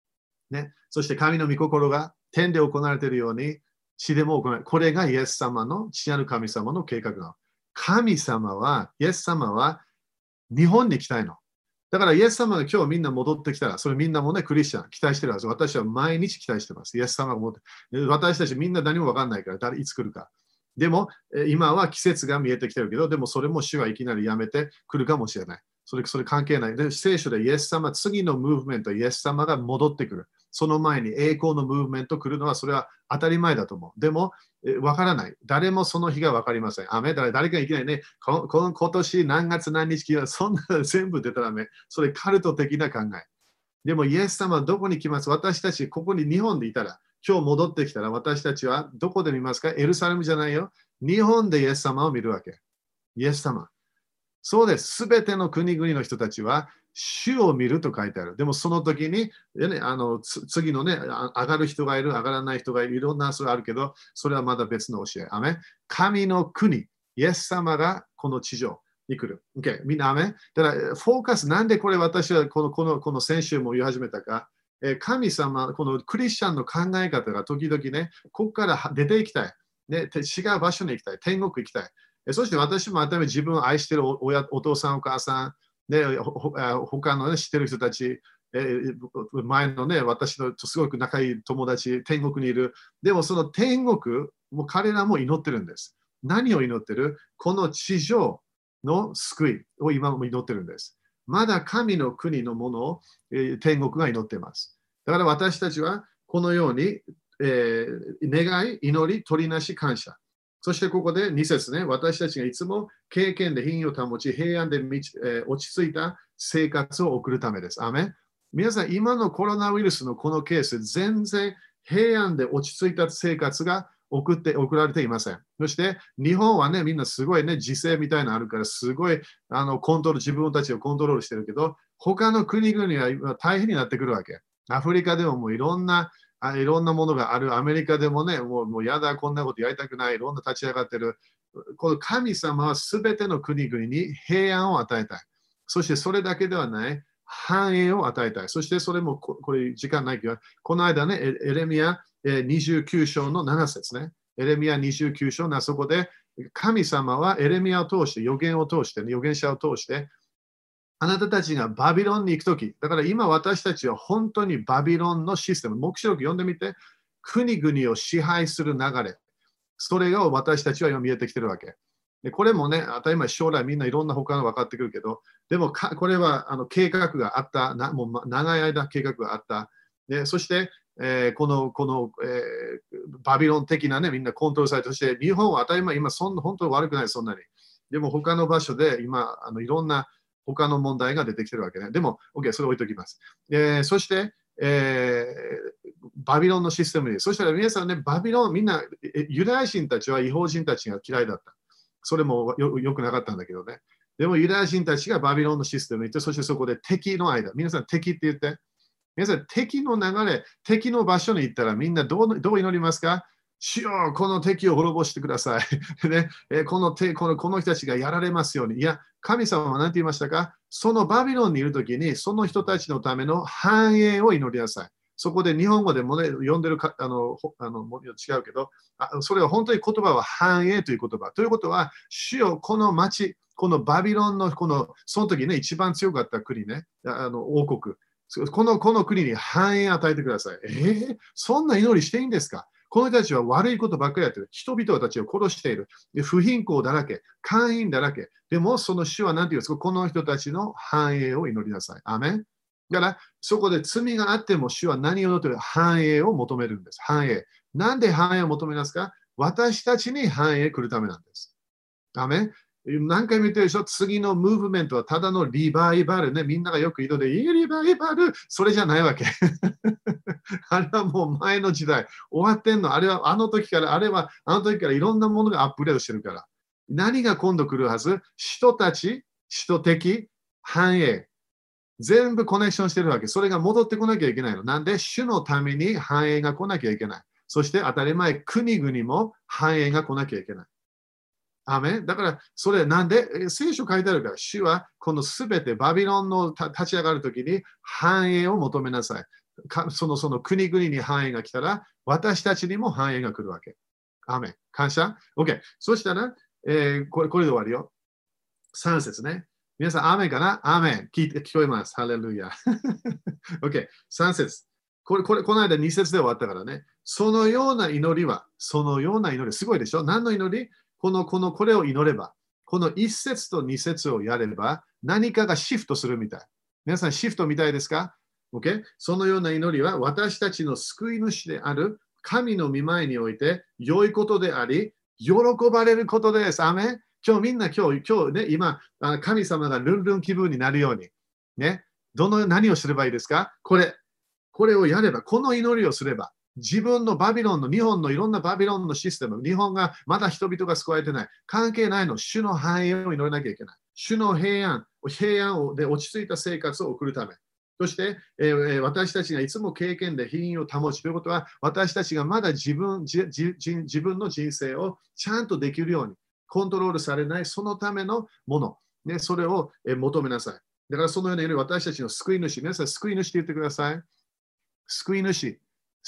ね。そして神の御心が天で行われているように地でも行われる。これがイエス様の父なる神様の計画なの。神様は、イエス様は日本に来たいの。だからイエス様が今日みんな戻ってきたら、それみんなもね、クリスチャン期待してるはず。私は毎日期待してます。イエス様が戻って。私たちみんな何も分かんないから、誰いつ来るか。でも、今は季節が見えてきてるけど、でもそれも主はいきなりやめてくるかもしれない。それ関係ない。で、聖書でイエス様、次のムーブメント、イエス様が戻ってくる。その前に栄光のムーブメント来るのは、それは当たり前だと思う。でも、わからない。誰もその日がわかりません。誰かいきなりね、今年何月何日か、そんな全部出たらね、それカルト的な考え。でも、イエス様はどこに来ます？私たち、ここに日本でいたら、今日戻ってきたら、私たちはどこで見ますか？エルサレムじゃないよ。日本でイエス様を見るわけ。イエス様。そうです。すべての国々の人たちは、主を見ると書いてある。でもその時に、次のね、上がる人がいる、上がらない人がいる、いろんなそれあるけど、それはまだ別の教え。アメン。神の国、イエス様がこの地上に来る。Okay、みんなアメン。だから、フォーカス、なんでこれ私はこの先週も言い始めたか。神様、このクリスチャンの考え方が時々ね、ここから出ていきたい。ね、違う場所に行きたい。天国行きたい。そして私も改めて自分を愛しているお父さん、お母さん、ね、他の、ね、知っている人たち、前のね、私のすごく仲いい友達、天国にいる。でもその天国、もう彼らも祈ってるんです。何を祈ってる？この地上の救いを今も祈ってるんです。まだ神の国のものを、天国が祈っています。だから私たちはこのように、願い、祈り、取りなし、感謝。そしてここで2節ね、私たちがいつも経験で品位を保ち、平安で落ち着いた生活を送るためです。アメン。皆さん、今のコロナウイルスのこのケース、全然平安で落ち着いた生活が送られていません。そして日本はね、みんなすごいね、時勢みたいなのあるから、すごい自分たちをコントロールしてるけど、他の国々は今大変になってくるわけ。アフリカでももういろんなものがある。アメリカでもね、もうやだ、こんなことやりたくない。いろんな立ち上がってる。この神様はすべての国々に平安を与えたい。そしてそれだけではない、繁栄を与えたい。そしてそれも、これ時間ないけど、この間ね、エレミア29章の7節ね。エレミア29章のそこで、神様はエレミアを通して、預言を通して、預言者を通して、あなたたちがバビロンに行くとき、だから今私たちは本当にバビロンのシステム、黙示録読んでみて、国々を支配する流れ、それが私たちは今見えてきてるわけ。でこれもね、当たり前将来みんないろんな他の分かってくるけど、でもこれは計画があった、もう長い間計画があった。でそして、このバビロン的なね、みんなコントロールされて、そして日本は当たり前、今本当に悪くない、そんなに。でも他の場所で今、いろんな他の問題が出てきてるわけね。でも、OK、それ置いときます。そして、バビロンのシステムに。そしたら皆さんね、バビロン、みんな、ユダヤ人たちは違法人たちが嫌いだった。それもよくなかったんだけどね。でもユダヤ人たちがバビロンのシステムに行って、そしてそこで敵の間、皆さん敵って言って、皆さん敵の流れ、敵の場所に行ったらみんなどう祈りますか？主よ、この敵を滅ぼしてください。ね、この人たちがやられますように。いや、神様は何て言いましたか？そのバビロンにいるときに、その人たちのための繁栄を祈りなさい。そこで日本語でもね、読んでる違うけど、それは本当に言葉は繁栄という言葉。ということは、主よ、この町、このバビロンの、その時ね、一番強かった国ね、王国。この国に繁栄を与えてください。そんな祈りしていいんですか？この人たちは悪いことばっかりやってる。人々たちを殺している。不貧困だらけ。会員だらけ。でも、その主は何て言うんですか？この人たちの繁栄を祈りなさい。アメン。だから、そこで罪があっても主は何を祈っている？繁栄を求めるんです。繁栄。なんで繁栄を求めますか？私たちに繁栄来るためなんです。アメン。何回も言ってるでしょ？次のムーブメントはただのリバイバルね。みんながよく言うので、いいリバイバル、それじゃないわけ。あれはもう前の時代、終わってんの。あれはあの時からいろんなものがアップデートしてるから。何が今度来るはず？人たち、人的、繁栄。全部コネクションしてるわけ。それが戻ってこなきゃいけないの。なんで、主のために繁栄が来なきゃいけない。そして当たり前、国々も繁栄が来なきゃいけない。 アメン。だから、それなんで聖書書いてあるから、主はこのすべてバビロンの立ち上がるときに繁栄を求めなさい。その国々に繁栄が来たら、私たちにも繁栄が来るわけ。アメン。感謝 ?OK。そしたら、これで終わるよ。3節ね。皆さん、アーメンかなアーメン。聞こえます。ハレルヤ。OK。3節。この間2節で終わったからね。そのような祈りは、そのような祈り、すごいでしょ何の祈りこれを祈れば、この1節と2節をやれば、何かがシフトするみたい。皆さん、シフトみたいですか ?OK。そのような祈りは、私たちの救い主である神の御前において、良いことであり、喜ばれることです。アーメン。今日ね、今、神様がルンルン気分になるように、ね、何をすればいいですかこれをやれば、この祈りをすれば、自分のバビロンの、日本のいろんなバビロンのシステム、日本がまだ人々が救われてない、関係ないの、主の繁栄を祈らなきゃいけない。主の平安で落ち着いた生活を送るため。そして、私たちがいつも経験で品位を保つということは、私たちがまだ自分の人生をちゃんとできるように、コントロールされないそのためのもの、ね、それを求めなさい。だからそのような私たちの救い主、皆さん救い主って言ってください。救い主。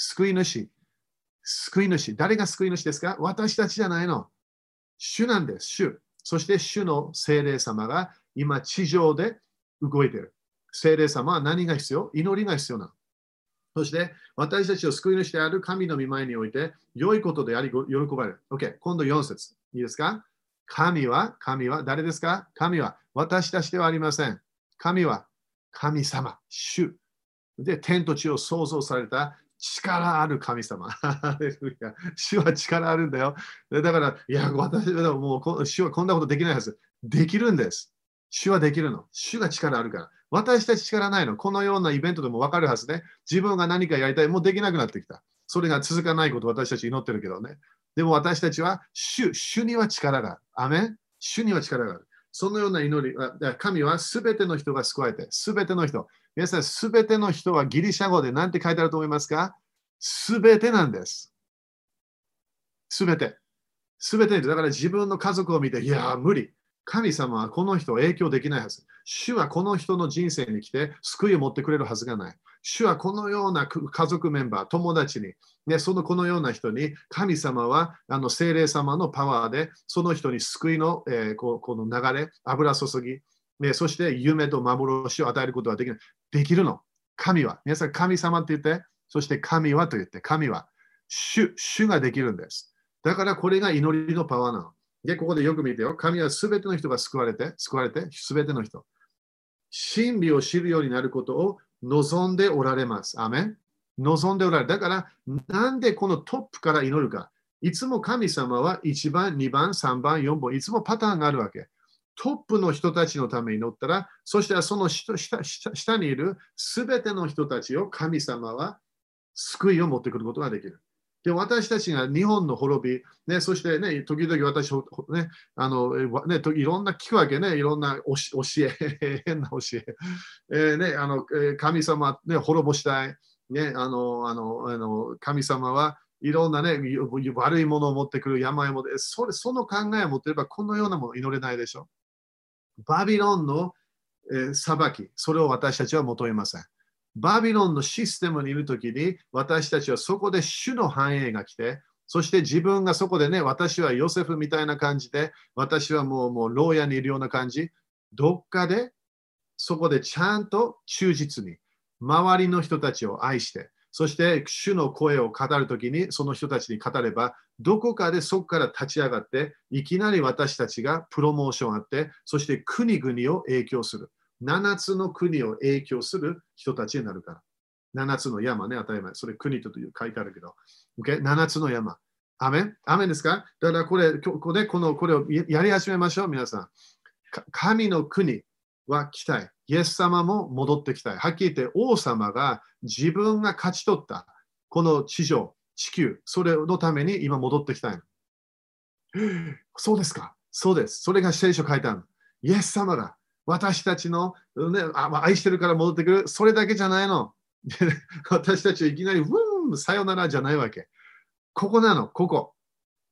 誰が救い主ですか私たちじゃないの。主なんです。主。そして主の聖霊様が今地上で動いている。聖霊様は何が必要祈りが必要なの。そして私たちを救い主である神の御前において良いことであり喜ばれる。OK。今度4節。いいですか神は誰ですか神は私たちではありません。神は神様、主。で、天と地を創造された力ある神様。主は力あるんだよ。だから、いや、私はもう主はこんなことできないはず。できるんです。主はできるの。主が力あるから。私たち力ないの。このようなイベントでも分かるはずね。自分が何かやりたい。もうできなくなってきた。それが続かないことを私たち祈ってるけどね。でも私たちは主には力がある。アメン主には力がある。そのような祈り、神はすべての人が救われて、すべての人。皆さん、すべての人はギリシャ語で何て書いてあると思いますかすべてなんです。すべて。すべて。だから自分の家族を見て、いや、無理。神様はこの人を影響できないはず。主はこの人の人生に来て救いを持ってくれるはずがない。主はこのような家族メンバー、友達に、ね、このような人に、神様は聖霊様のパワーで、その人に救いの、この流れ、油注ぎ、ね、そして夢と幻を与えることができる。できるの。神は。皆さん、神様って言って、そして神はと言って、神は主ができるんです。だからこれが祈りのパワーなの。で、ここでよく見てよ。神はすべての人が救われて、すべての人。真理を知るようになることを望んでおられます。アメン。望んでおられる。だから、なんでこのトップから祈るか。いつも神様は1番、2番、3番、4番、いつもパターンがあるわけ。トップの人たちのために祈ったら、そしてその下にいるすべての人たちを神様は救いを持ってくることができる。で私たちが日本の滅び、ね、そしてね、時々私、ね、いろんな聞くわけね、いろんな教え、変な教え。神様、ね、滅ぼしたい。ね、神様はいろんなね、悪いものを持ってくる病を持って、その考えを持っていれば、このようなものを祈れないでしょ。バビロンの、裁き、それを私たちは求めません。バビロンのシステムにいるときに、私たちはそこで主の繁栄が来て、そして自分がそこでね、私はヨセフみたいな感じで、私はもう牢屋にいるような感じ、どっかでそこでちゃんと忠実に、周りの人たちを愛して、そして主の声を語るときに、その人たちに語れば、どこかでそこから立ち上がって、いきなり私たちがプロモーションあって、そして国々を影響する。7つの国を影響する人たちになるから。7つの山ね、当たり前。それ国という書いてあるけど。7つの山。アメンアメンですかだからこれをやり始めましょう、皆さん。神の国は来たい。イエス様も戻ってきたい。はっきり言って王様が自分が勝ち取ったこの地球、それのために今戻ってきたい。そうですかそうです。それが聖書書いてある。イエス様が私たちの、ね、愛してるから戻ってくる。それだけじゃないの。私たちはいきなり、さよならじゃないわけ。ここなの、ここ。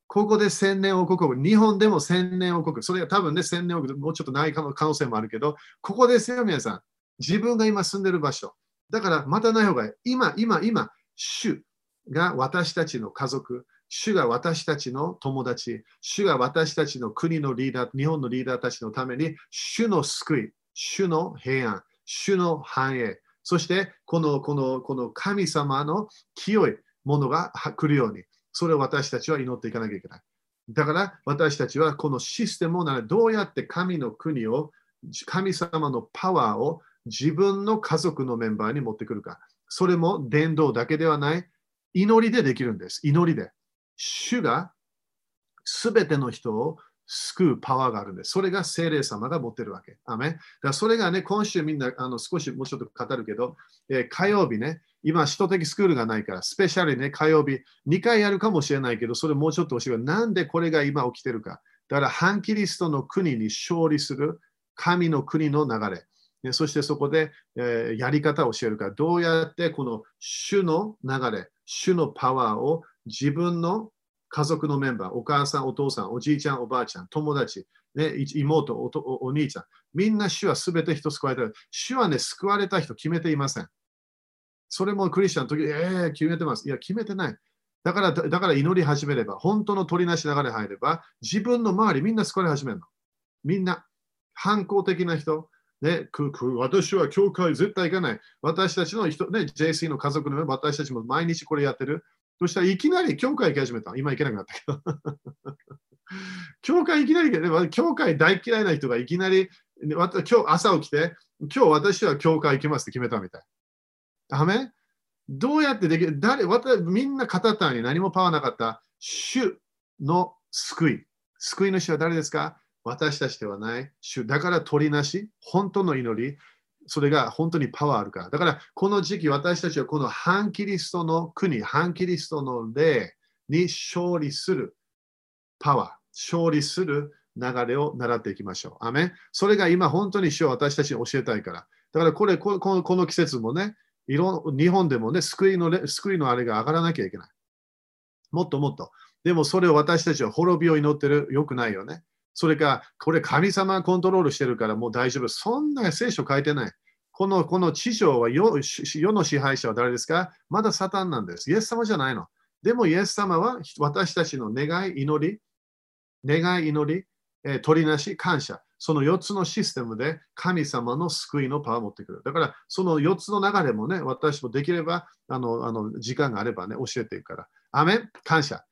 ここで千年王国、日本でも千年王国、それは多分ね、千年王国、もうちょっとない可能性もあるけど、ここですよ、皆さん。自分が今住んでる場所。だから、またない方がいい。今、主が私たちの家族、主が私たちの友達、主が私たちの国のリーダー、日本のリーダーたちのために、主の救い、主の平安、主の繁栄、そしてこの神様の清いものが来るように、それを私たちは祈っていかなきゃいけない。だから私たちはこのシステムをどうやって神の国を、神様のパワーを自分の家族のメンバーに持ってくるか。それも伝道だけではない、祈りでできるんです。祈りで。主がすべての人を救うパワーがあるんです。それが聖霊様が持ってるわけ。アメン。だからそれがね、今週みんな少しもうちょっと語るけど、火曜日ね、今、首都的スクールがないから、スペシャルにね、火曜日2回やるかもしれないけど、それもうちょっと教える。なんでこれが今起きてるか。だから、反キリストの国に勝利する神の国の流れ。そしてそこで、やり方を教えるから、どうやってこの主の流れ、主のパワーを自分の家族のメンバー、お母さん、お父さん、おじいちゃん、おばあちゃん、友達、ね、妹、お兄ちゃん、みんな主はすべて人救われた。主はね、救われた人決めていません。それもクリスチャンの時、決めてます。いや、決めてない。だから祈り始めれば、本当の取りなし流れ入れば、自分の周りみんな救われ始めるの。みんな、反抗的な人、ね、私は教会絶対行かない。私たちの人、ね、JC の家族の私たちも毎日これやってる。そしたらいきなり教会行き始めた。今行けなくなったけど。教会いきなり、教会大嫌いな人がいきなり、今日朝起きて、今日私は教会行きますって決めたみたい。アメン。どうやってできる？みんな片手に何もパワーなかった主の救い。救い主は誰ですか？私たちではない主。だから取りなし、本当の祈り、それが本当にパワーあるから。だからこの時期私たちはこの反キリストの国、反キリストの霊に勝利するパワー、勝利する流れを習っていきましょう。アメン。それが今本当に主は私たちに教えたいから。だからこの季節もね、日本でもね、救いのあれが上がらなきゃいけない。もっともっと。でもそれを私たちは滅びを祈ってる。よくないよね。それか、これ神様がコントロールしてるからもう大丈夫。そんな聖書書いてない。この地上は世の支配者は誰ですか？まだサタンなんです。イエス様じゃないの。でもイエス様は私たちの願い、祈り、取りなし、感謝。その4つのシステムで神様の救いのパワーを持ってくる。だからその4つの流れもね、私もできれば時間があればね、教えていくから。アメン、感謝。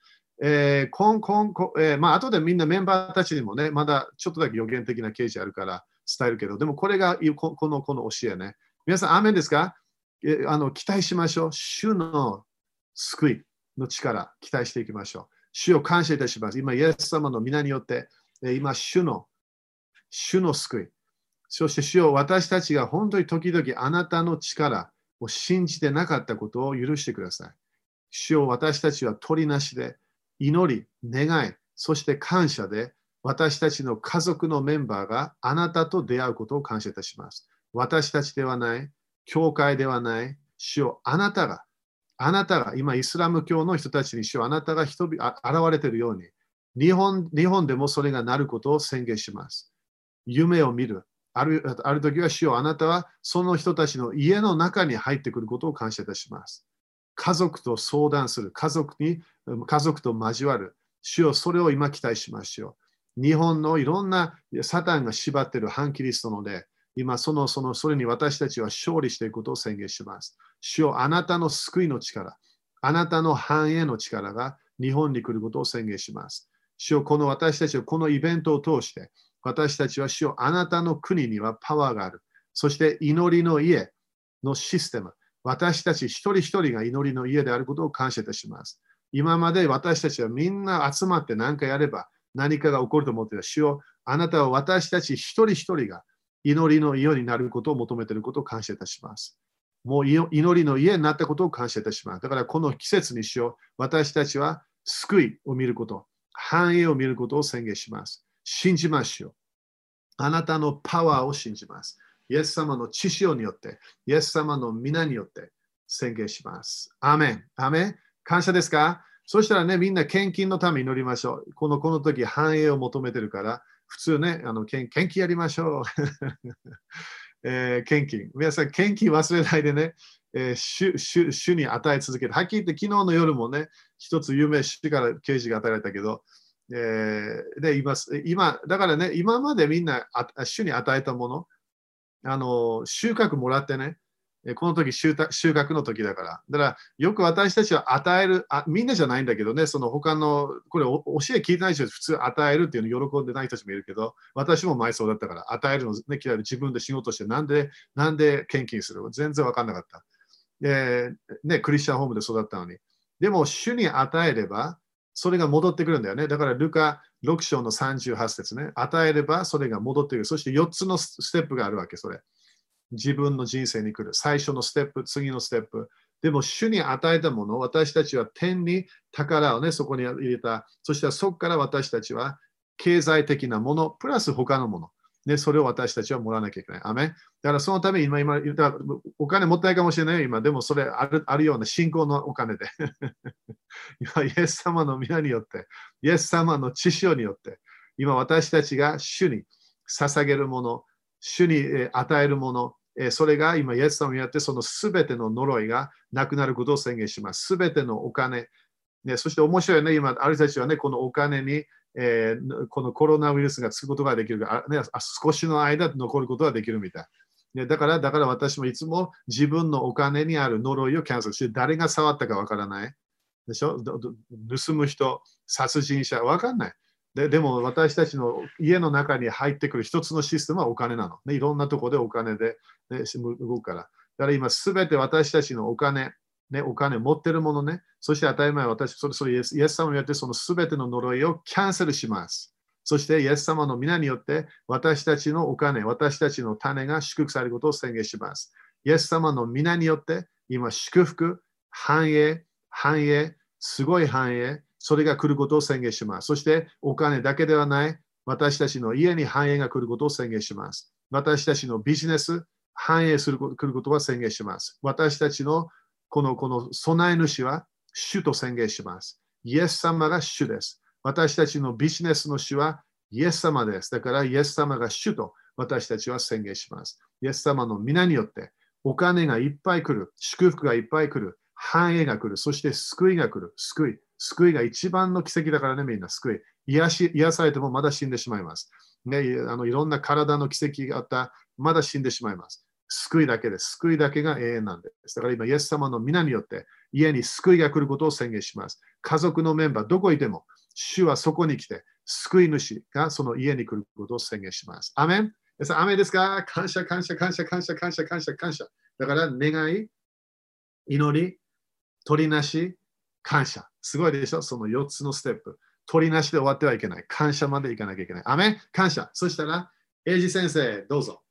後でみんなメンバーたちにもね、まだちょっとだけ予言的な啓示あるから伝えるけど、でもこれがこの教えね。皆さん、アメンですか？期待しましょう。主の救いの力、期待していきましょう。主を感謝いたします。今、イエス様の皆によって、今、主の救い。そして主を私たちが本当に時々あなたの力を信じてなかったことを許してください。主を私たちは取りなしで、祈り、願い、そして感謝で、私たちの家族のメンバーがあなたと出会うことを感謝いたします。私たちではない、教会ではない、主をあなたが、今イスラム教の人たちに主をあなたが現れているように、日本でもそれがなることを宣言します。夢を見る。ある時は主よあなたはその人たちの家の中に入ってくることを感謝いたします。家族と相談する。家族と交わる。主よそれを今期待しましょう。日本のいろんなサタンが縛っている反キリストので、今それに私たちは勝利していくことを宣言します。主よあなたの救いの力、あなたの繁栄の力が日本に来ることを宣言します。主よ私たちはこのイベントを通して、私たちは主よあなたの国にはパワーがある。そして祈りの家のシステム、私たち一人一人が祈りの家であることを感謝いたします。今まで私たちはみんな集まって何かやれば何かが起こると思っていた。主よあなたは私たち一人一人が祈りの家になることを求めていることを感謝いたします。もう祈りの家になったことを感謝いたします。だからこの季節にしよう。私たちは救いを見ること、繁栄を見ることを宣言します。信じましょう。あなたのパワーを信じます。イエス様の知識によって、イエス様の皆によって宣言します。アーメン。アーメン。感謝ですか？ そしたらね、みんな献金のために祈りましょう。この時、繁栄を求めてるから、普通ね、献金やりましょう。献金。皆さん、献金忘れないでね、主に与え続けて。はっきり言って、昨日の夜もね、一つ有名主から啓示が与えられたけど、で今、だからね、今までみんな主に与えたもの、収穫もらってね、この時収穫の時だから。だから、よく私たちは与える、みんなじゃないんだけどね、その他の、これ教え聞いてない人は普通与えるっていうのを喜んでない人たちもいるけど、私も前そうだったから、与えるの、ね、嫌いで自分で仕事して、なんで献金するの全然分かんなかった。ね、クリスチャンホームで育ったのに。でも、主に与えれば、それが戻ってくるんだよね。だから、ルカ6章の38節ね。与えれば、それが戻ってくる。そして4つのステップがあるわけ、それ。自分の人生に来る。最初のステップ、次のステップ。でも、主に与えたもの、私たちは天に宝をね、そこに入れた。そしてそこから私たちは経済的なもの、プラス他のもの。ね、それを私たちはもらわなきゃいけない。アメン。だからそのために今言ったお金もったいかもしれないよ、今。でもそれあるような信仰のお金で。今、イエス様の皆によって、イエス様の知識によって、今私たちが主に捧げるもの、主に与えるもの、それが今、イエス様によってそのすべての呪いがなくなることを宣言します。すべてのお金、ね、そして面白いね、今、ある人たちはね、このお金に、このコロナウイルスがつくことができるから、ね、少しの間残ることができるみたい。ね、だから私もいつも自分のお金にある呪いをキャンセルして、誰が触ったかわからない。でしょ？盗む人、殺人者、わかんない。でも私たちの家の中に入ってくる一つのシステムはお金なの。ね、いろんなところでお金で、ね、動くから。だから今すべて私たちのお金、ね、お金持ってるものね、そして当たり前それイエス様によってそのすべての呪いをキャンセルします。そしてイエス様の皆によって私たちのお金、私たちの種が祝福されることを宣言します。イエス様の皆によって今祝福、繁栄、すごい繁栄、それが来ることを宣言します。そしてお金だけではない、私たちの家に繁栄が来ることを宣言します。私たちのビジネス、繁栄来ることは宣言します。私たちのこの備え主は主と宣言します。イエス様が主です。私たちのビジネスの主はイエス様です。だからイエス様が主と私たちは宣言します。イエス様の皆によってお金がいっぱい来る、祝福がいっぱい来る、繁栄が来る、そして救いが来る。救いが一番の奇跡だからね、みんな救い。癒されてもまだ死んでしまいます。ね、いろんな体の奇跡があった、まだ死んでしまいます。救いだけです。救いだけが永遠なんです。だから今、イエス様の皆によって家に救いが来ることを宣言します。家族のメンバー、どこいても、主はそこに来て、救い主がその家に来ることを宣言します。アメン。アメンですか？感謝。だから願い、祈り、取りなし、感謝。すごいでしょ？その4つのステップ。取りなしで終わってはいけない。感謝までいかなきゃいけない。アメン。感謝。そしたら、英二先生、どうぞ。